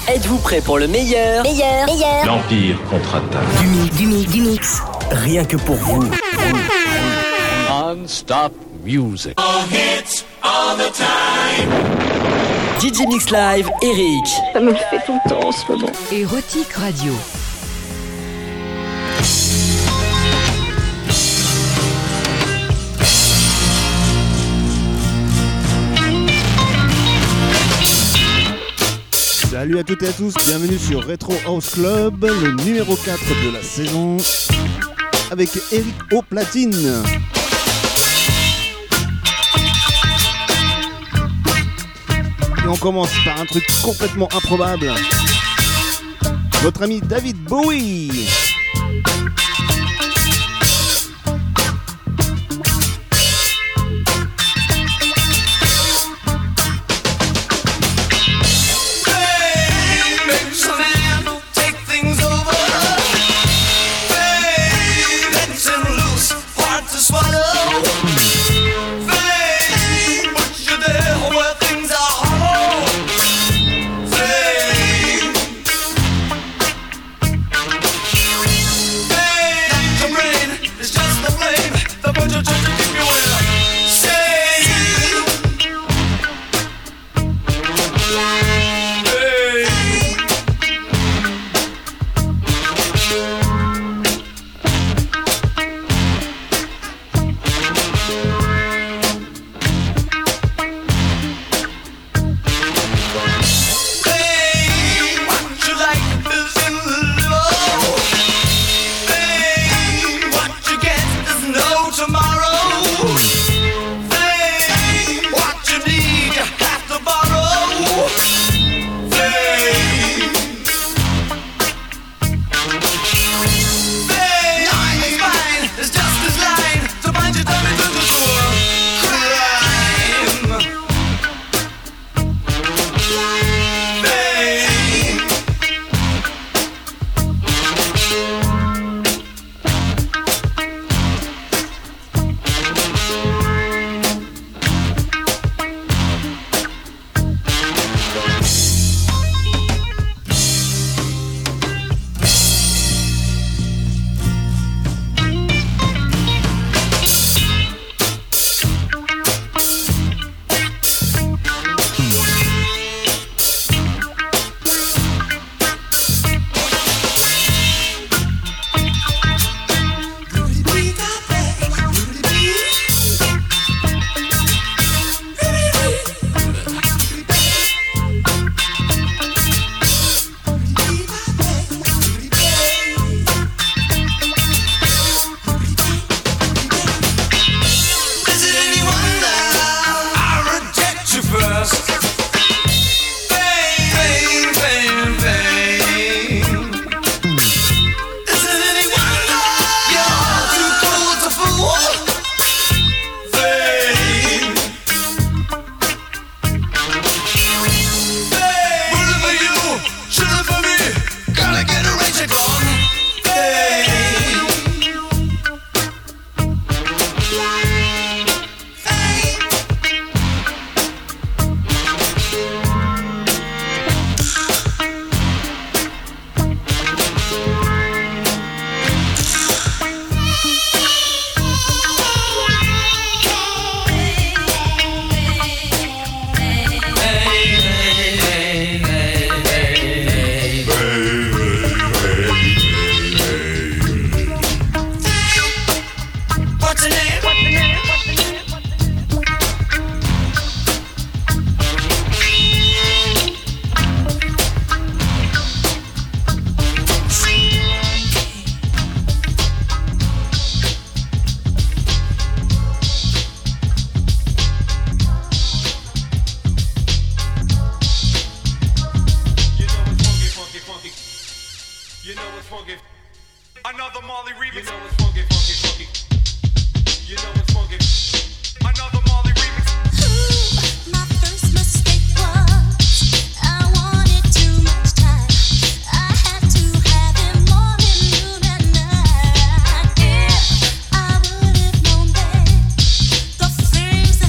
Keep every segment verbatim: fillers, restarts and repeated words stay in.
Êtes-vous prêts pour le meilleur? Meilleur, meilleur. L'Empire contre-attaque. Du mix, du mix, du mix. Rien que pour vous. Non-stop music. All hits, all the time. D J Mix Live, Eric. Ça me le fait tout le temps en ce moment. Érotique Radio. Salut à toutes et à tous, bienvenue sur Retro House Club, le numéro quatre de la saison, avec Eric au platine. Et on commence par un truc complètement improbable. Notre ami David Bowie.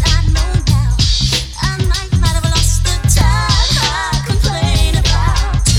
Time I complain about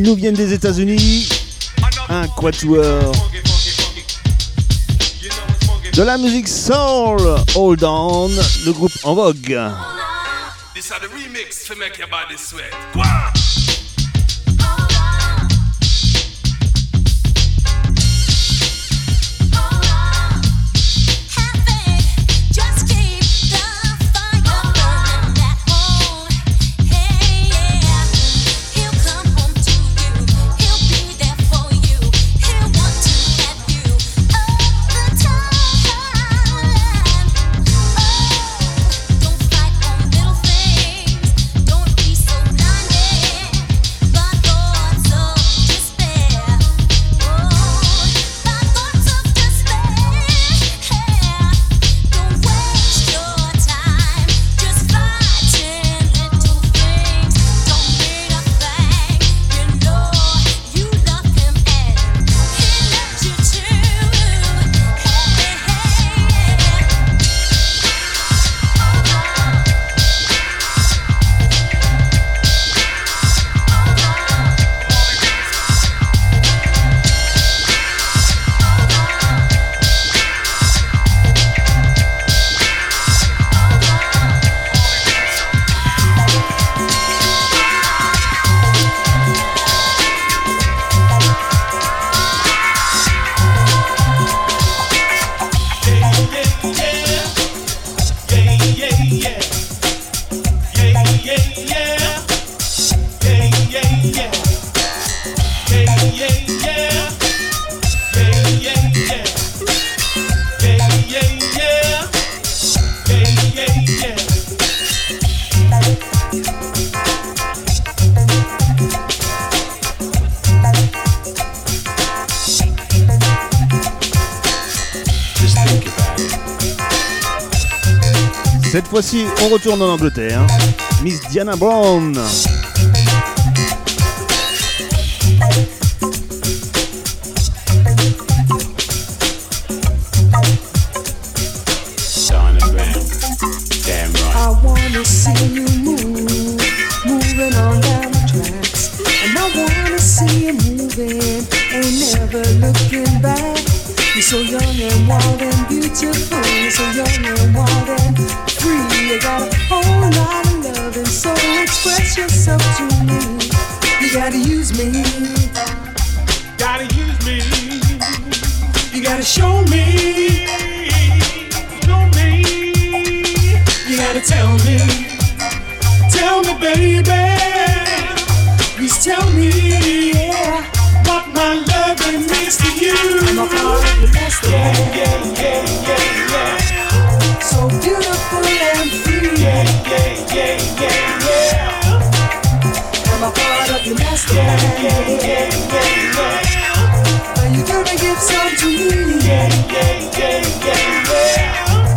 Ils nous viennent des États-Unis. Un quatuor de la musique soul. Hold on, le groupe en vogue. This is the remix to make your body sweat. Go on. Cette fois-ci, on retourne en Angleterre. Miss Diana Brown. I wanna see you move, moving on down the tracks. And I wanna see you moving, ain't never looking back. You're so young and wild and beautiful. You're so young and wild and free. You got a whole lot of love and so express yourself to me. You gotta use me. Gotta use me. You gotta show me. Show me. You gotta tell me. Tell me, baby. Please tell me, yeah, What my loving means to you. I'm a part of your master. Yeah, yeah, yeah, yeah, yeah. So beautiful and free. Yeah, yeah, yeah, yeah, yeah. I'm a part of your master. Yeah, yeah, yeah, yeah, yeah. Are you gonna give some to me? Yeah, yeah, yeah, yeah, yeah.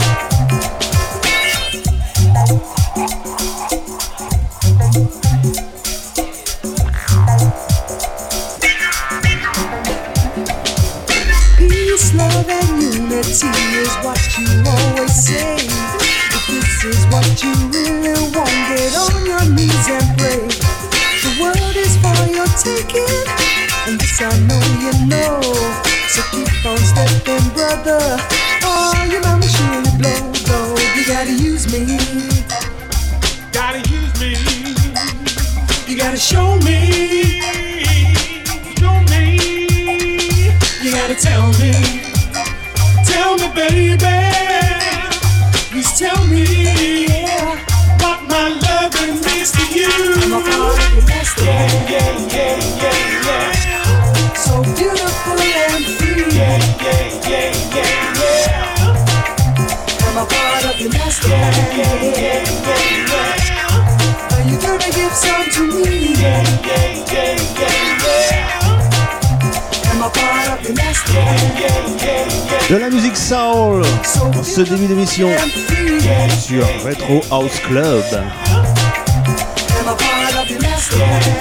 Peace, love, and unity is what you always say. If this is what you really want, get on your knees and pray. The world is for your taking, and this I know you know. So keep on stepping, brother. Oh, your mama surely blow, blow. You gotta use me. Gotta use me. You gotta show me. Show me. You gotta tell me. Tell me, baby. Please tell me, yeah, What my loving means to you. I'm a part of your master. Yeah, yeah, yeah, yeah, yeah. So beautiful and free. Yeah, yeah, yeah, yeah, yeah. I'm a part of your master. Yeah, yeah, yeah, yeah. Are you gonna give some to me? Yeah, yeah, yeah, yeah, yeah. I'm a part of your master. Yeah, yeah, yeah. De la musique soul So pour ce début d'émission and free. sur Retro House Club. I'm a part of your master.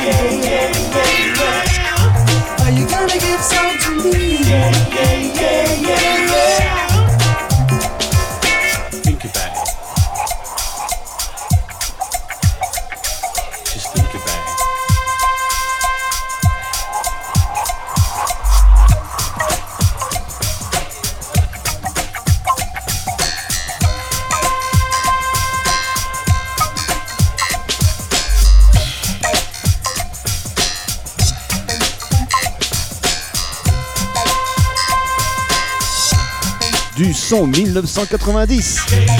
Are you gonna give some to me? Yeah, yeah, yeah, yeah, yeah. Think about it. Just think about it. son mille neuf cent quatre-vingt-dix.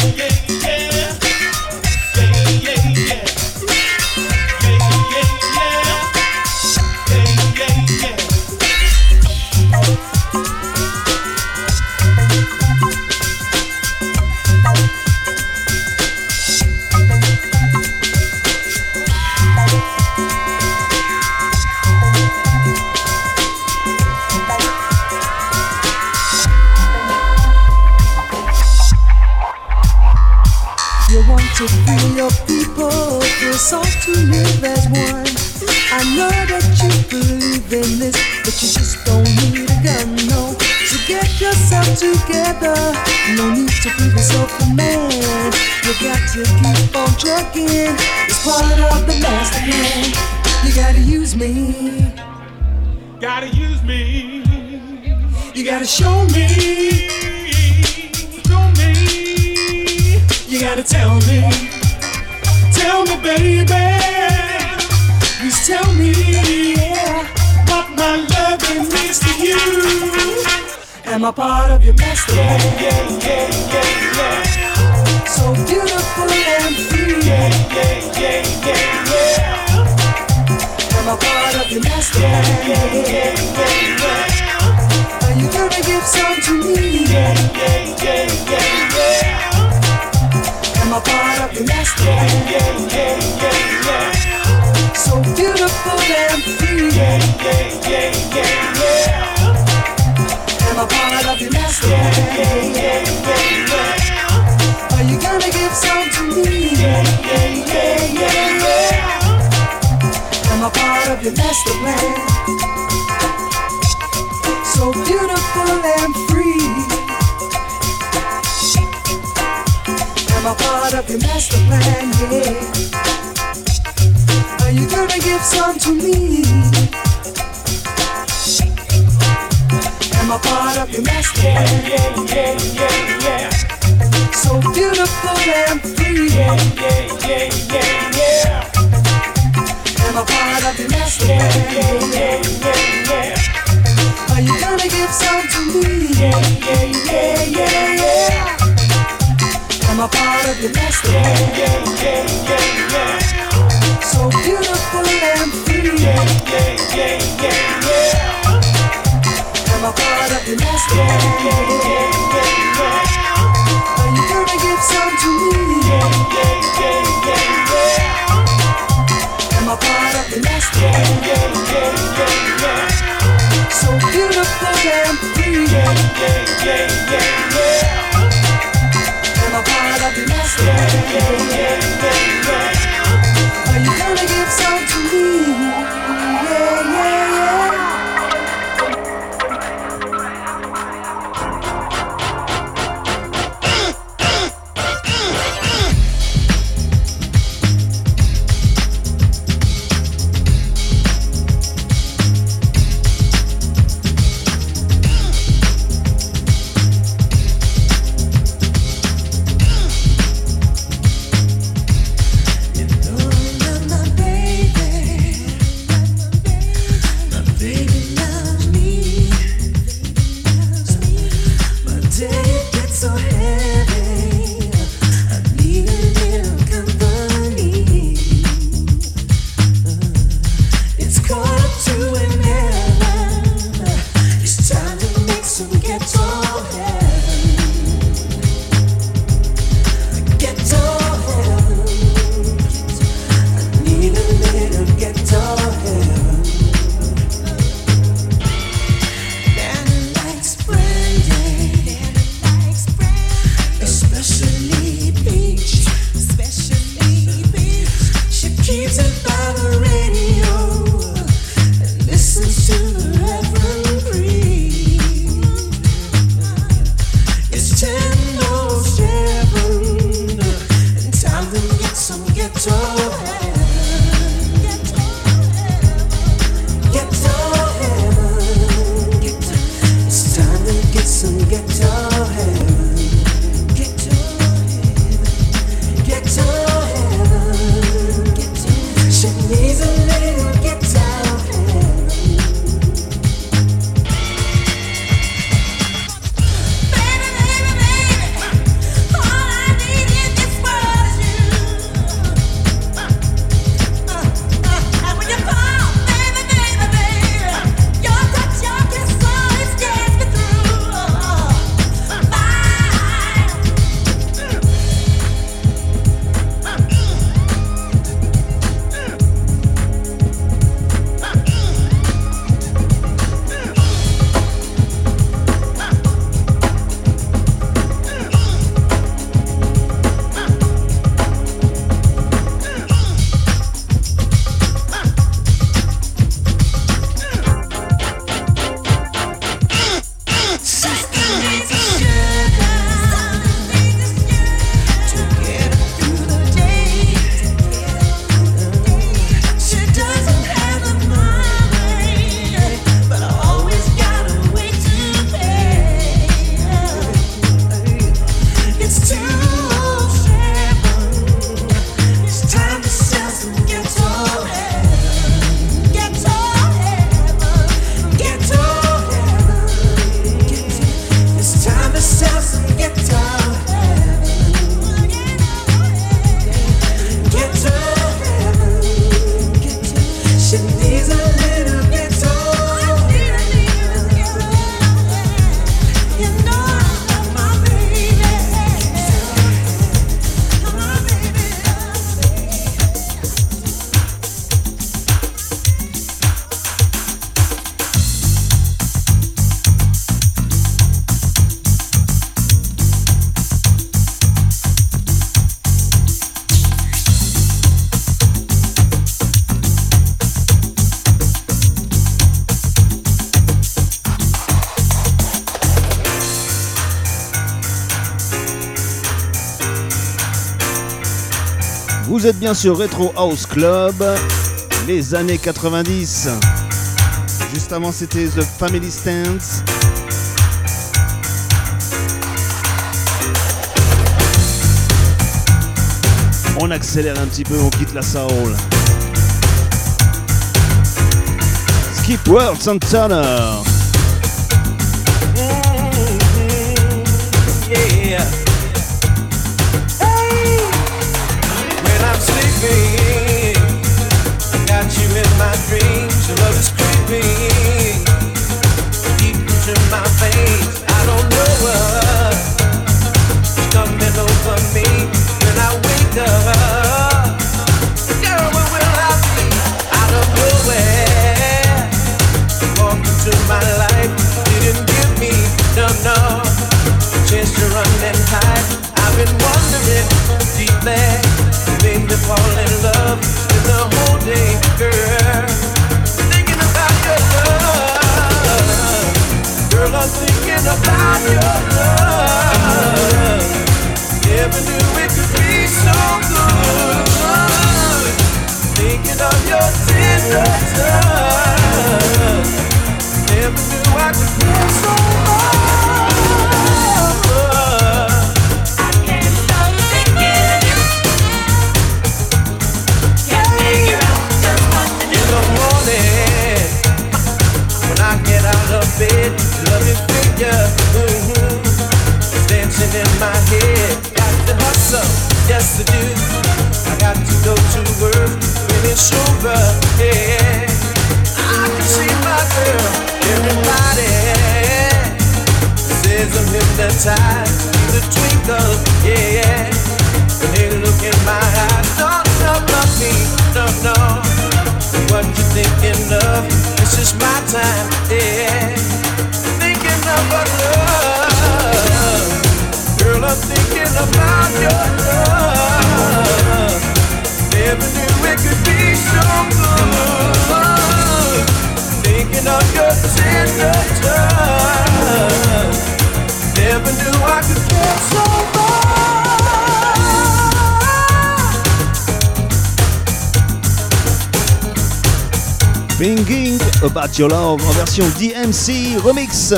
To free your people, feel sought to live as one. I know that you believe in this, but you just don't need a gun, no. So get yourself together, no need to prove yourself a man. You got to keep on trucking, it's part of the master plan. You gotta use me, Gotta use me. you gotta show me, Show me. you gotta tell me, tell me baby, please tell me, yeah, what my loving means to you. Am I part of your master plan? Yeah, yeah, yeah, yeah. So beautiful and free. Yeah, yeah, yeah, yeah, yeah. Am I part of your master plan? Yeah, yeah, yeah, yeah. Are you gonna give some to me? Yeah, yeah, yeah, yeah, yeah. Am I part of your master plan? Yeah, yeah, yeah, yeah. So beautiful and free. Yeah, yeah, yeah, yeah, yeah. Am I part of your master plan? Yeah, yeah, yeah, yeah. Are you gonna give some to me? Yeah, yeah, yeah, yeah, yeah. Am I part of your master plan? So beautiful and free. Am I part of your master plan? Yeah. Are you gonna give some to me? Am I part of your master plan? Yeah, yeah, yeah, yeah. So beautiful and free. Yeah, yeah, yeah, yeah, yeah. Am I part of your master plan? Yeah, yeah, yeah, yeah. Are you gonna give some to me? Yeah, yeah, yeah, yeah, yeah. Am I part of your master plan? Yeah, yeah, yeah, yeah. So beautiful and free. Yeah, yeah, yeah, yeah, yeah. Am I part of your master plan? Yeah, yeah, yeah, yeah. Are you gonna give some to me? Yeah, yeah, yeah, yeah, yeah. Am I part of your master plan? Yeah, yeah, yeah, yeah. So beautiful and free. Yeah, yeah, yeah, yeah, yeah. Am I part of your master plan? Yeah, yeah, yeah, yeah. Are you gonna give some to me? Yeah, yeah, yeah. Vous êtes bien sur Retro House Club, les années quatre-vingt-dix. Juste avant, c'était The Family Stance. On accélère un petit peu, on quitte la soul. Skip World Santana. Yeah. Hey, when I'm sleeping, I got you in my dreams. Your love is creeping deep into my veins. I don't know what's coming over me when I wake up. Girl, where will I be? Out of nowhere, walk into my life. Didn't give me no no chance to run and hide. I've been wondering deeply, you made me fall in love with the whole day, girl. Thinking about your love, girl, I'm thinking about your love. Never knew it could be so good. Thinking of your tender touch. Never knew I could feel so much. Bed, loving figure, mm-hmm. dancing in my head. Got to hustle, yes I do. I got to go to work when it's over, yeah. I can see my girl, everybody says I'm hypnotized. The twinkle, yeah. When they look in my eyes, don't look at me, no, no. What you thinking of? This is my time, yeah. Thinking about love, girl. I'm thinking about your love. Never knew it could be so good. Thinking of your tender touch. Never knew I could get so much. Thinking About Your Love en version D M C Remix.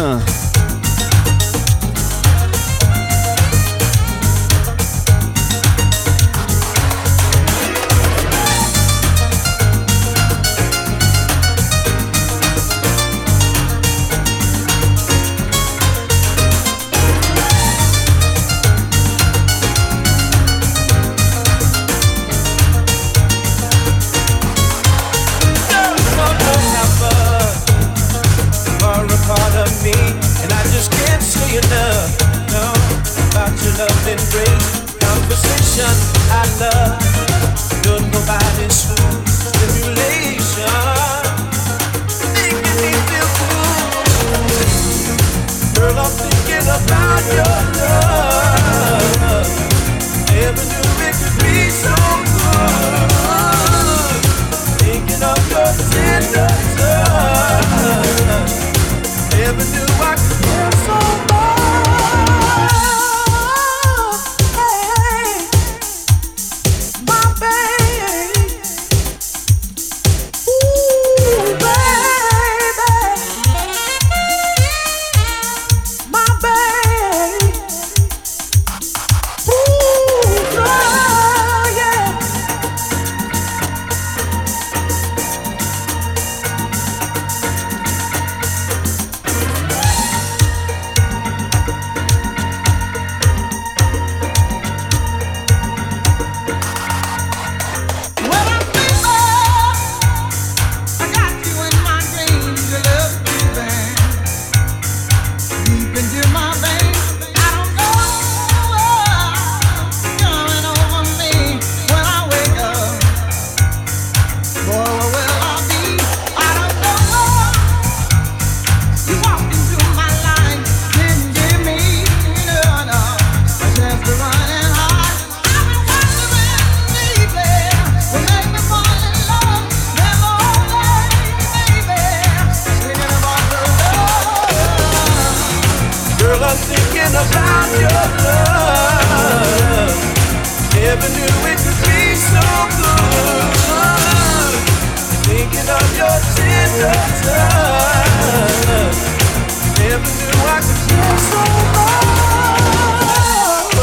thinking about your love. Never knew it could be so Never knew I could care so much.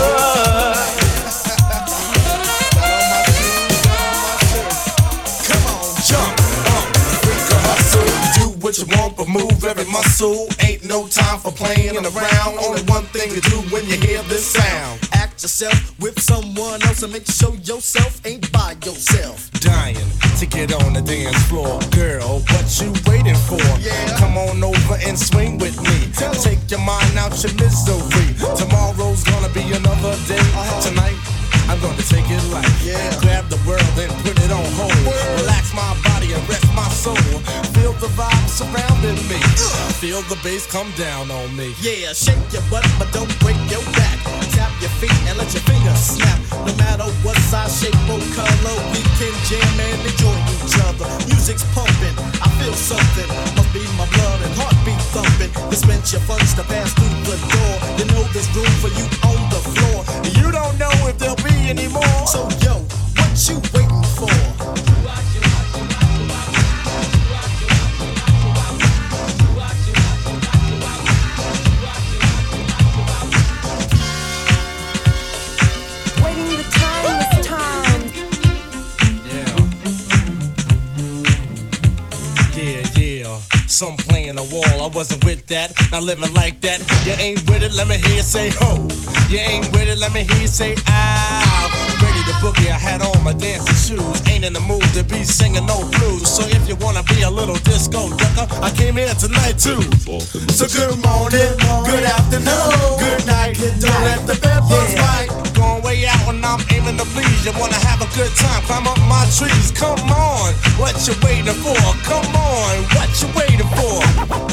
Come on, jump, up, freak a hustle. Do what you want, but move every muscle. Ain't no time for playing around. Only one thing to do when you hear this sound. Act yourself with someone else and make sure yourself ain't by yourself. Dying to get on the dance floor. Girl, what you waiting for? Yeah. Come on over and swing with me. Take your mind out your misery. Tomorrow's gonna be another day. Uh-huh. Tonight, I'm gonna take it light. Yeah. Grab the world and put it on hold. Word. Relax my body and rest my soul. Feel the vibe surrounding me. Uh. Feel the bass come down on me. Yeah, shake your butt, but don't break your back. Tap your feet and let your fingers snap. No matter what size, shape, or color, we can jam and enjoy each other. Music's pumping, I feel something. Must be my blood and heartbeat thumping. Dispense your funds to pass through the door. You know there's room for you on the floor. You don't know if there'll be any more. So yo, what you waiting for? Some playing the wall, I wasn't with that, not living like that. You ain't with it, let me hear you say ho. You ain't with it, let me hear you say ow. Ready to boogie, I had on my dancing shoes. Ain't in the mood to be singing no blues. So if you wanna be a little disco ducker, I came here tonight too. So good morning, good afternoon, good night. Don't let the bed bugs bite. Going way out when I'm aiming to please. You wanna have a good time, climb up my trees. Come on, what you waiting for? Come on, what you waiting for?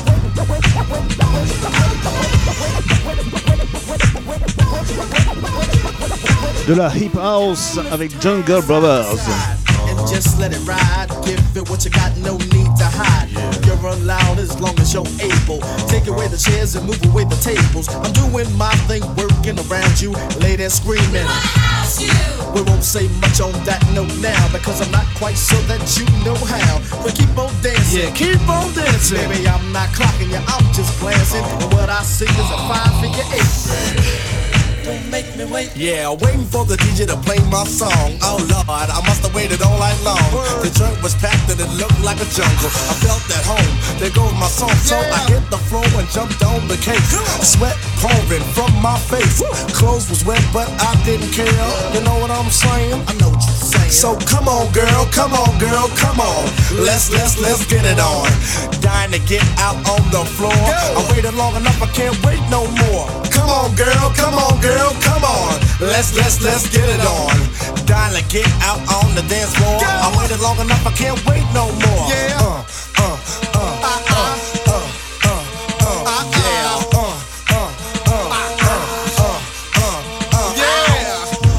De la hip house avec Jungle Brothers. And just let it ride. Give it what you got, no need to hide. You're allowed as long as you're able. Take away the chairs and move away the tables. I'm doing my thing, working around you. Lay there screaming. We won't say much on that note now, because I'm not quite sure that you know how. But keep on dancing, yeah, keep on dancing. Baby, I'm not clocking you, I'm just glancing. And what I see is a five figure eight. Don't make me wait. Yeah, waiting for the D J to play my song. Oh Lord, I must have waited all night long. Word. The joint was packed and it looked like a jungle. I felt at home, there goes my song. So yeah. I hit the floor and jumped on the cake. Sweat pouring from my face. Woo. Clothes was wet, but I didn't care. You know what I'm saying? I know what you're saying. So come on, girl, come on, girl, come on. Let's, let's, let's get it on. Dying to get out on the floor. Go. I waited long enough, I can't wait no more. Come on, girl, come on, girl, come on. Let's, let's, let's get it on. Dying to get out on the dance floor. Go. I waited long enough, I can't wait no more. Yeah. Uh, uh, uh, uh, uh, uh, uh, uh, uh, yeah. Uh, uh, uh, uh, uh, uh, uh, yeah.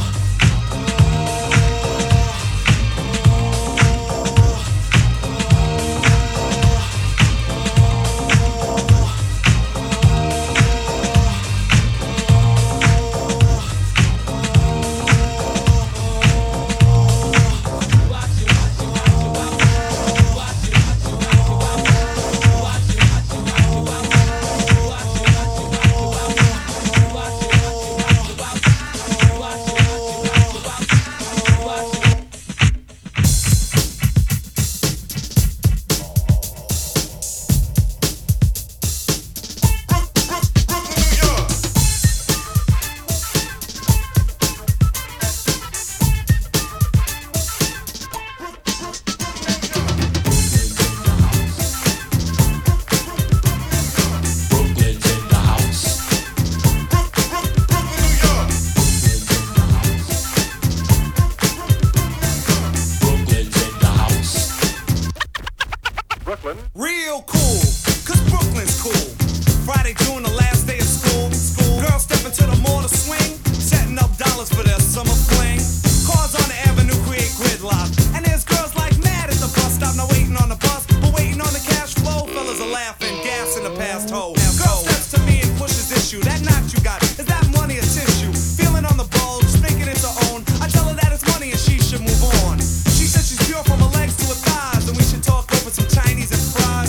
Real cool, cause Brooklyn's cool. Friday, June, the last day of school. school. Girls step into the mall to swing, setting up dollars for their summer fling. Cars on the avenue create gridlock, and there's girls like mad at the bus stop. Not waiting on the bus, but waiting on the cash flow. Fellas are laughing, gas in the past hole. Girl steps to me and pushes issue. That knot you got, is that money or tissue? Feeling on the bulge, thinking it's her own. I tell her that it's money and she should move on. She said she's pure from her legs to her thighs, and we should talk over some Chinese and fries.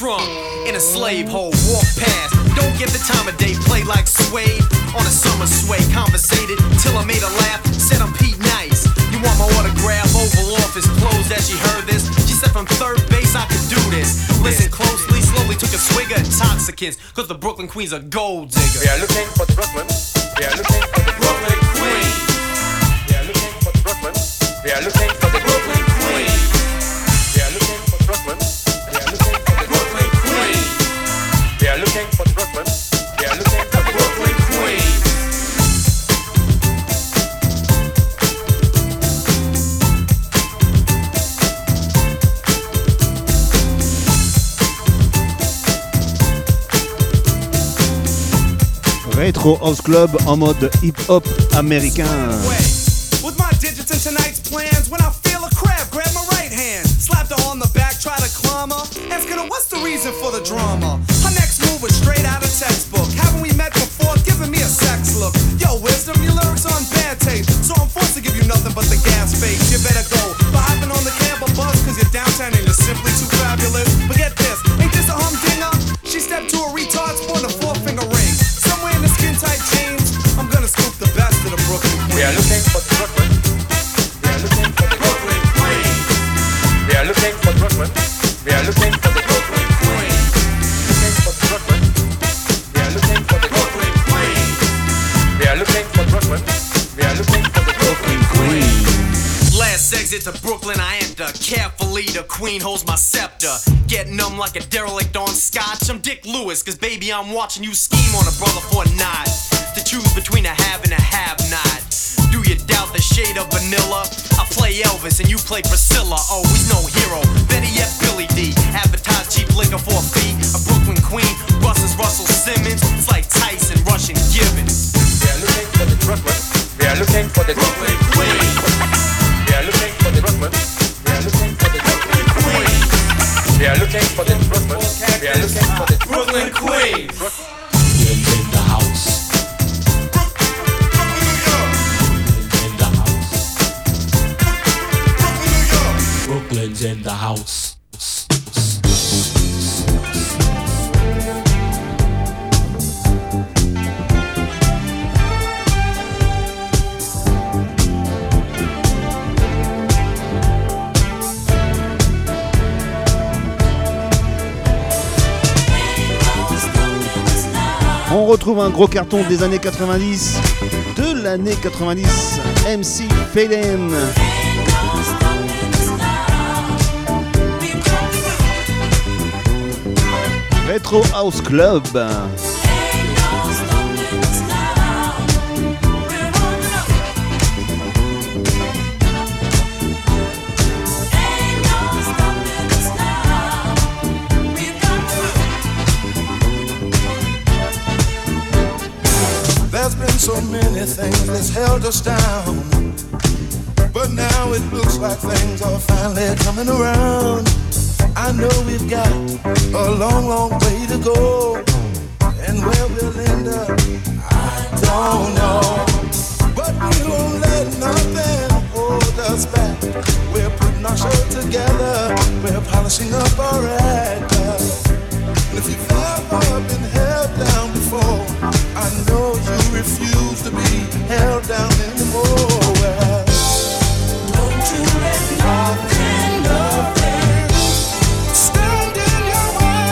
trunk. In a slave hole, walk past. Don't get the time of day, play like Suede. On a summer sway, conversated till I made her laugh. Said I'm Pete Nice. You want my autograph? Oval Office closed as she heard this. She said from third base I could do this. Listen closely, slowly took a swig of intoxicants. Cause the Brooklyn Queen's a gold digger. We are looking for the Brooklyn. We are looking for the Brooklyn Queen. We are looking for the Brooklyn. We are looking for the Brooklyn Queen. We are looking for Brooklyn. We are looking for the Brooklyn Queen. We are looking for the Brooklyn. We are looking for the Brooklyn Queen. Retro House Club en mode hip-hop américain. With my digits in tonight's plans, when I feel a crab, grab my right hand, slapped her on the back, try to climb her, asking her what's the reason for the drama. Her next move was straight out of textbook. Haven't we met before? Giving me a sex look. Yo, wisdom, your lyrics on bad tape, so I'm forced to give you nothing but the gas face. You better go. But hopping on the cab or bus, cause you're downtown and you're simply too fabulous. But get this, ain't this a humdinger? She stepped to a retard, sporting a four-finger ring. Somewhere in the skin-tight jeans, I'm gonna scoop the best of the Brooklyn Queen. We are looking for the Brooklyn. We are looking for the Brooklyn Queen. We are looking for Brooklyn. We are looking for the Brooklyn Queen. Looking for Brooklyn. We are looking for the Brooklyn Queen. We are looking for Brooklyn. We are looking for the Brooklyn Queen. Last exit to Brooklyn, I enter. Carefully, the queen holds my scepter. Getting numb like a derelict on scotch. I'm Dick Lewis, cause baby, I'm watching you scheme on a brother for a knot. To choose between a have and a have-not. Do you doubt the shade of vanilla? I play Elvis and you play Priscilla. Oh, he's no hero. Better yet, Billy D. Advertise cheap liquor for a fee. A Brooklyn Queen, Russell's Russell Simmons. It's like Tyson, Russian Gibbons. We are looking for the Brooklyn. We are looking for the Brooklyn Queen. We are looking for the Brooklyn. We are looking for the Brooklyn Queen. We are looking for the Brooklyn. We are looking for the Brooklyn Queen. Brooklyn's in the house. Brooklyn's in the house. On retrouve un gros carton des années quatre-vingt-dix, de l'année quatre-vingt-dix, M C Phelan. Retro House Club. There's been so many things that's held us down, but now it looks like things are finally coming around. I know we've got a long, long way to go, and where we'll end up, I don't know. But we won't let nothing hold us back. We're putting our show together, we're polishing up our act. And if you've ever been held down before, I know you refuse to be held down anymore. Well, don't you let nothing, nothing stand in your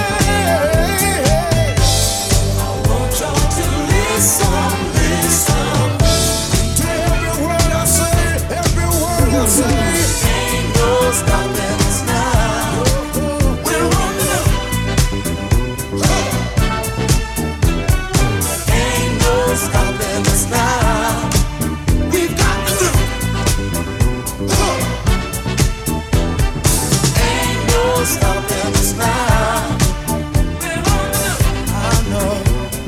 way. I want y'all to listen, listen to every word I say, every word I say. Ain't no stopping us now. We're on the stopping us now. We've got to do. Ain't no stopping us now. I know,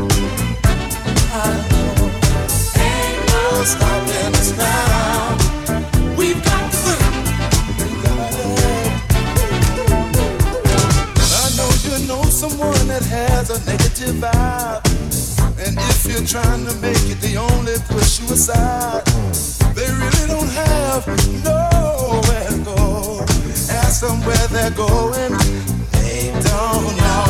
I know. Ain't no stopping us now. We've got to do. We got it. I know you know someone that has a negative vibe. And if you're trying to make it, they only push you aside. They really don't have nowhere to go. Ask them where they're going, they don't know.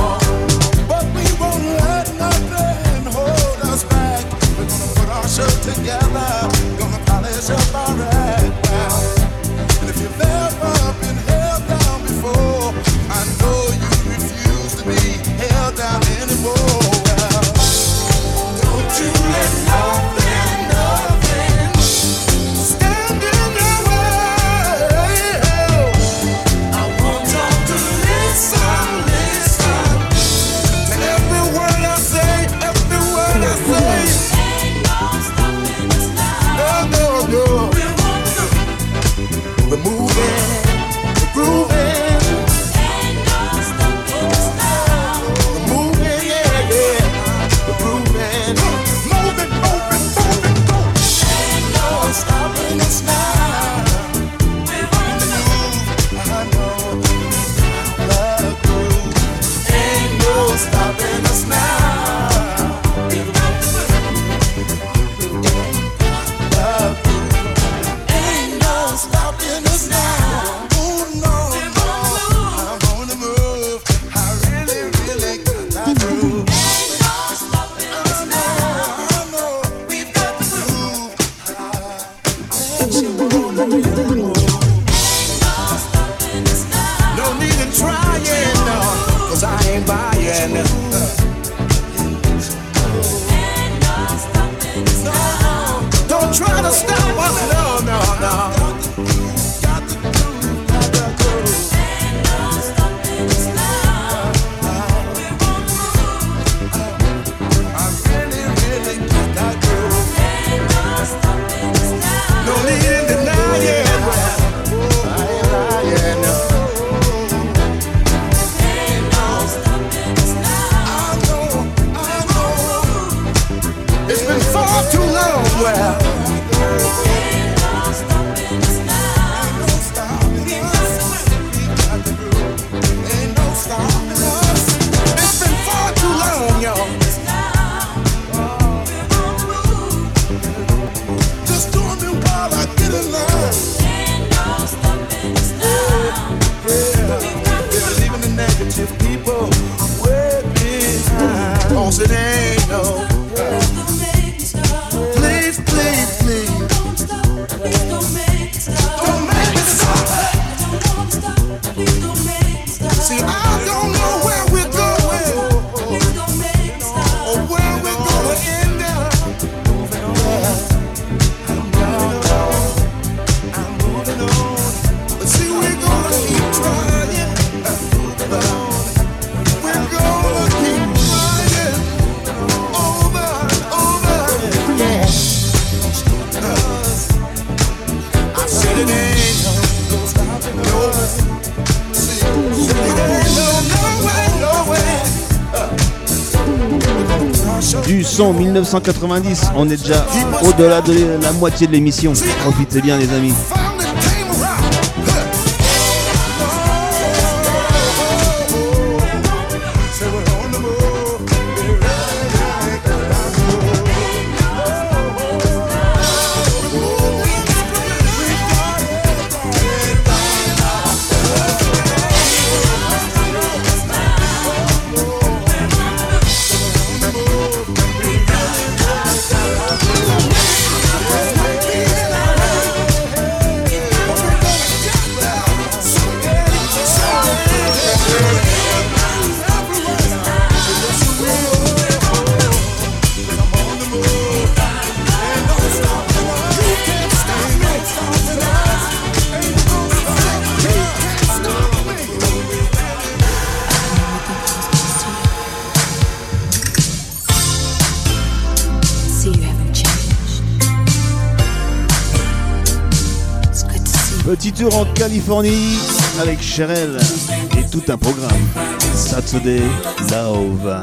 Son dix-neuf cent quatre-vingt-dix, on est déjà au-delà de la moitié de l'émission. Profitez bien les amis. Petit tour en Californie avec Cherelle et tout un programme. Saturday Love.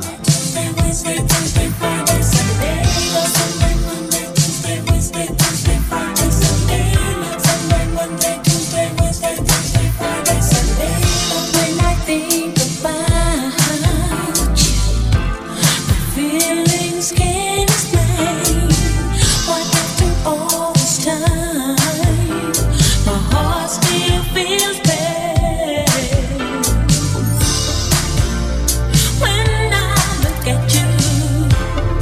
When I look at you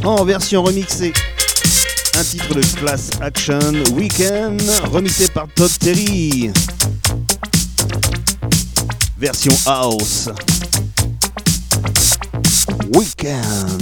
en version remixée. Un titre de Class Action Weekend, remixé par Todd Terry. Version house. Weekend.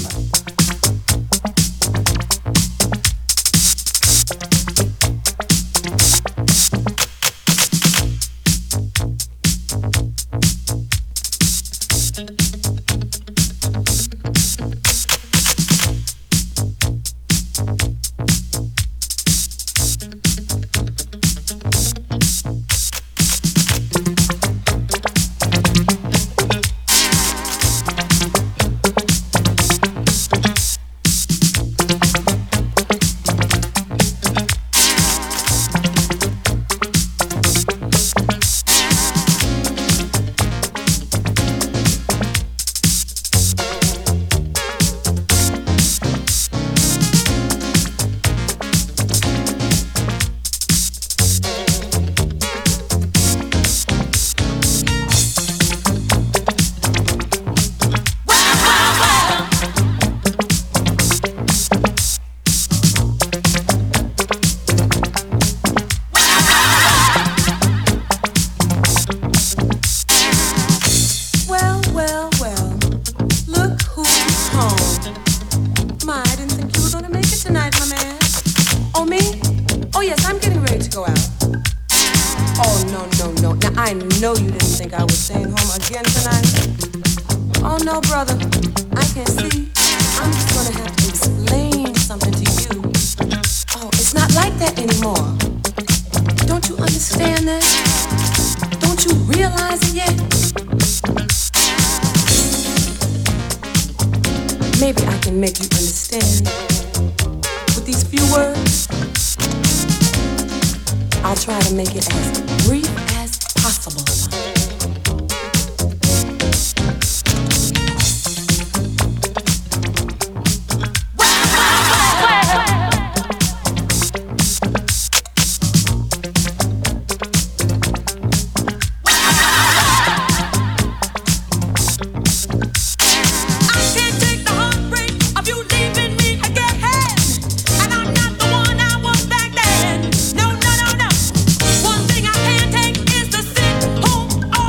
One thing I can't take is to sit home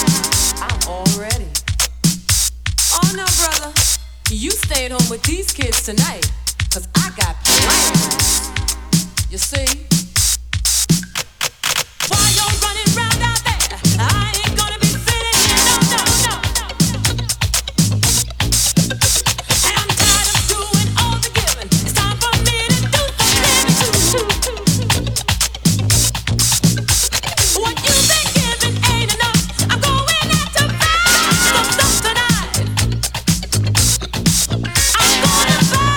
I'm all ready. Oh no, brother. You staying home with these kids tonight. Cause I got plans. You see? Why you running round out there? I ain't gonna be sitting here, no, no, no, no. And I'm tired of doing all the giving. It's time for me to do some living too. What you've been giving ain't enough. I'm going out to buy some stuff tonight. I'm gonna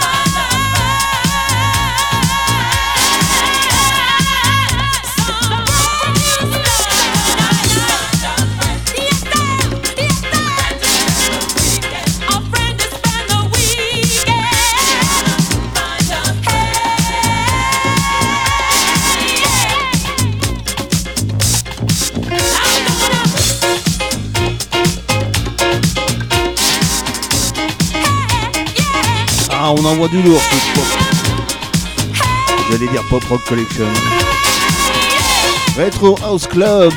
Ah, on envoie du lourd ce pop. J'allais dire Pop Rock Collection. Retro House Club.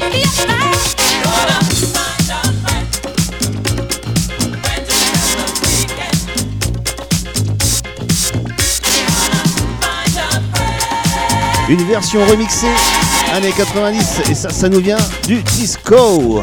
Une version remixée années quatre-vingt-dix et ça, ça nous vient du disco.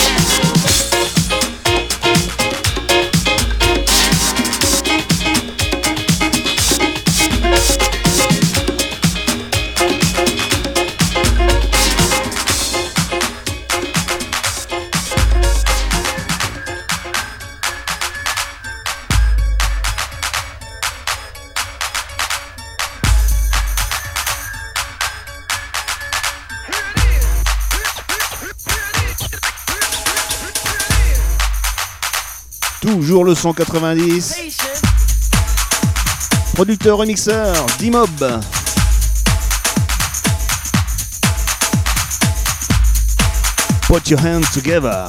Toujours le son quatre-vingt-dix. Producteur remixeur D-Mob. Put your hands together.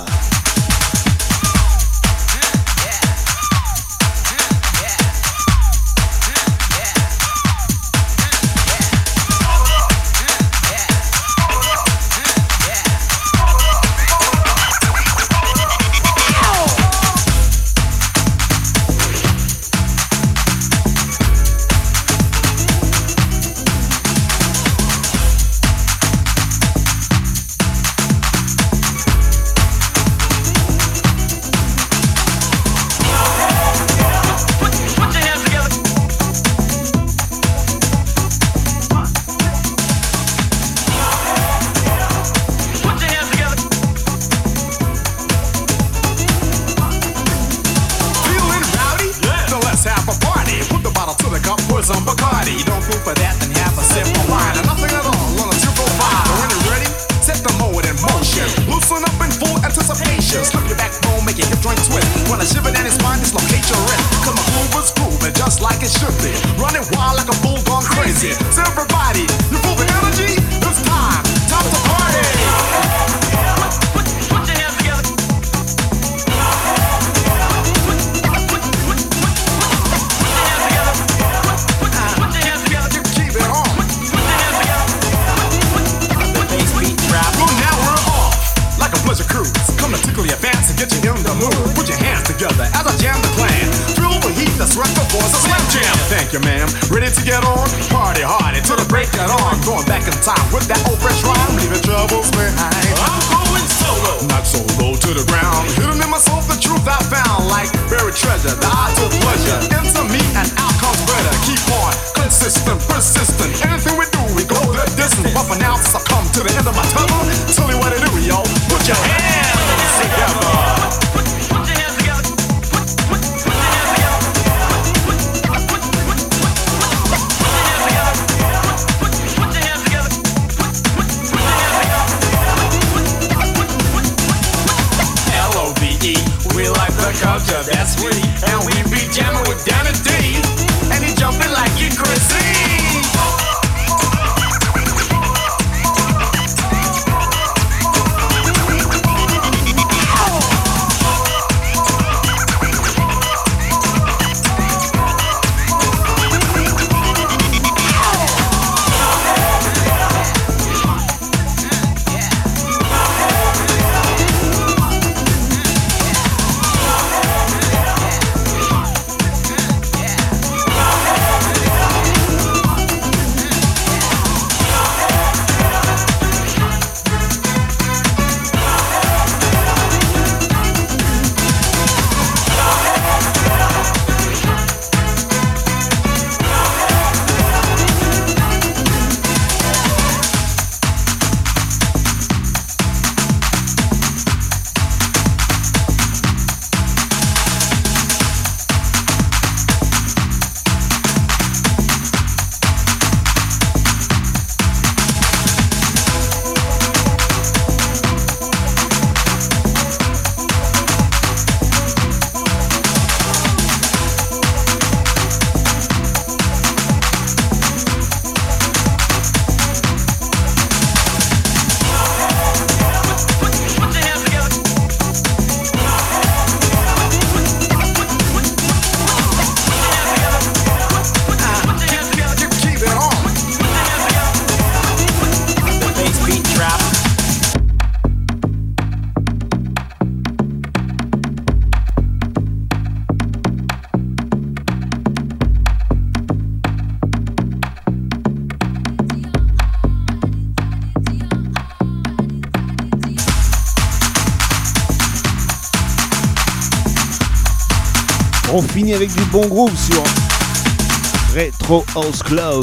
On finit avec du bon groove sur Retro House Club.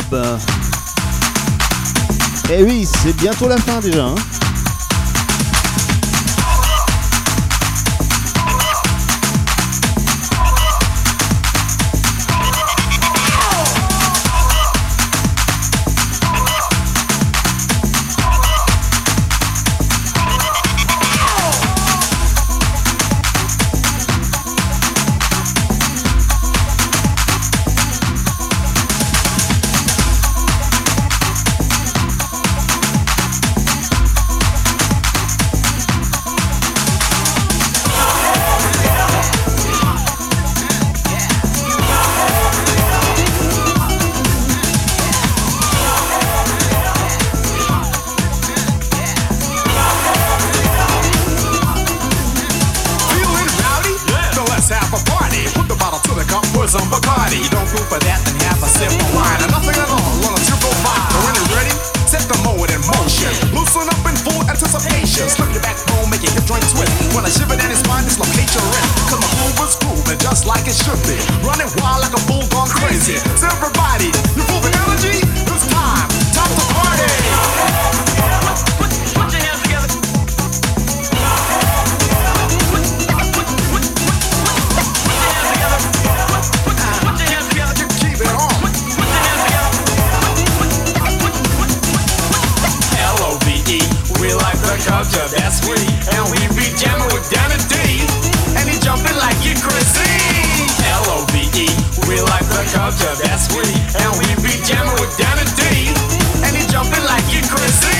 Et oui, c'est bientôt la fin déjà. Hein. Some Bacardi, you don't go for that, then have a sip of wine. And nothing at all, on a triple five. So when you're ready, set the mode in motion. Loosen up in full anticipation. Slip your back home, make your hip joint twist. When I shiver down your spine, dislocate your wrist. Cause my groove is grooving just like it should be. Running wild like a bull gone crazy. So everybody, you full of energy? It's time, time to party. Put, put your hands together. Culture, that's we, and we be jamming with Danny D, and he jumping like you crazy. L O V E, we like the culture, that's we, and we be jamming with Danny D, and he jumping like you crazy.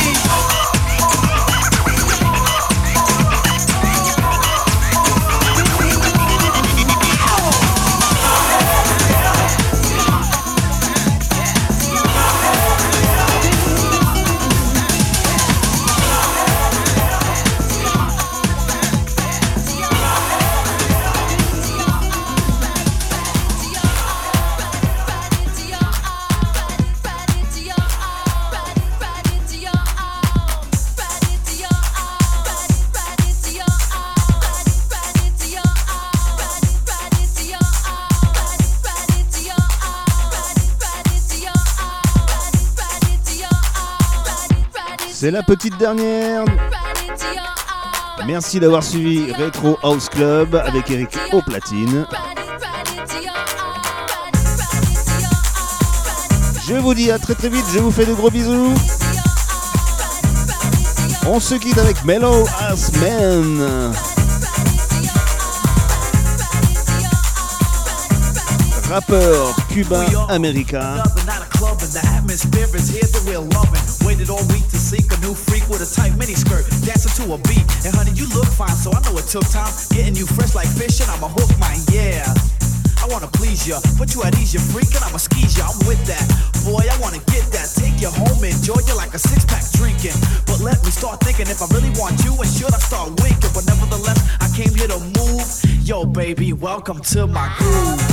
C'est la petite dernière. Merci d'avoir suivi Retro House Club avec Eric au platine. Je vous dis à très très vite, je vous fais de gros bisous. On se quitte avec Mellow Ass Man. Rappeur cubain-américain. Waited all week to seek a new freak with a tight mini skirt, dancing to a beat. And honey, you look fine, so I know it took time. Getting you fresh like fish, and I'm a hook mine, yeah. I wanna please ya, but you at ease, you freak, and I'm a squeeze ya. I'm with that, boy. I wanna get that. Take you home, enjoy you like a six pack drinking. But let me start thinking if I really want you, and should I start winking? But nevertheless, I came here to move. Yo, baby, welcome to my groove.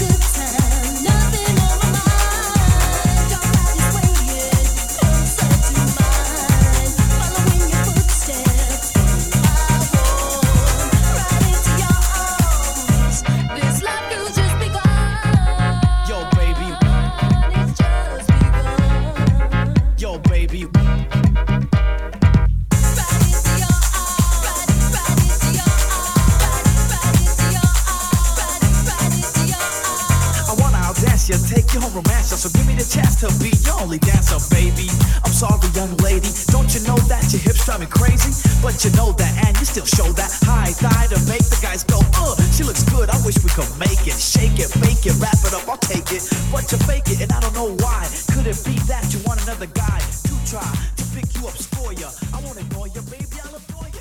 Take you home, romance you, so give me the chance to be your only dancer, baby. I'm sorry, young lady, don't you know that your hips drive me crazy? But you know that, and you still show that high thigh to make the guys go, uh, she looks good, I wish we could make it. Shake it, bake it, wrap it up, I'll take it. But you fake it, and I don't know why. Could it be that you want another guy to try to pick you up, score ya? I won't ignore you, baby, I'll adore you.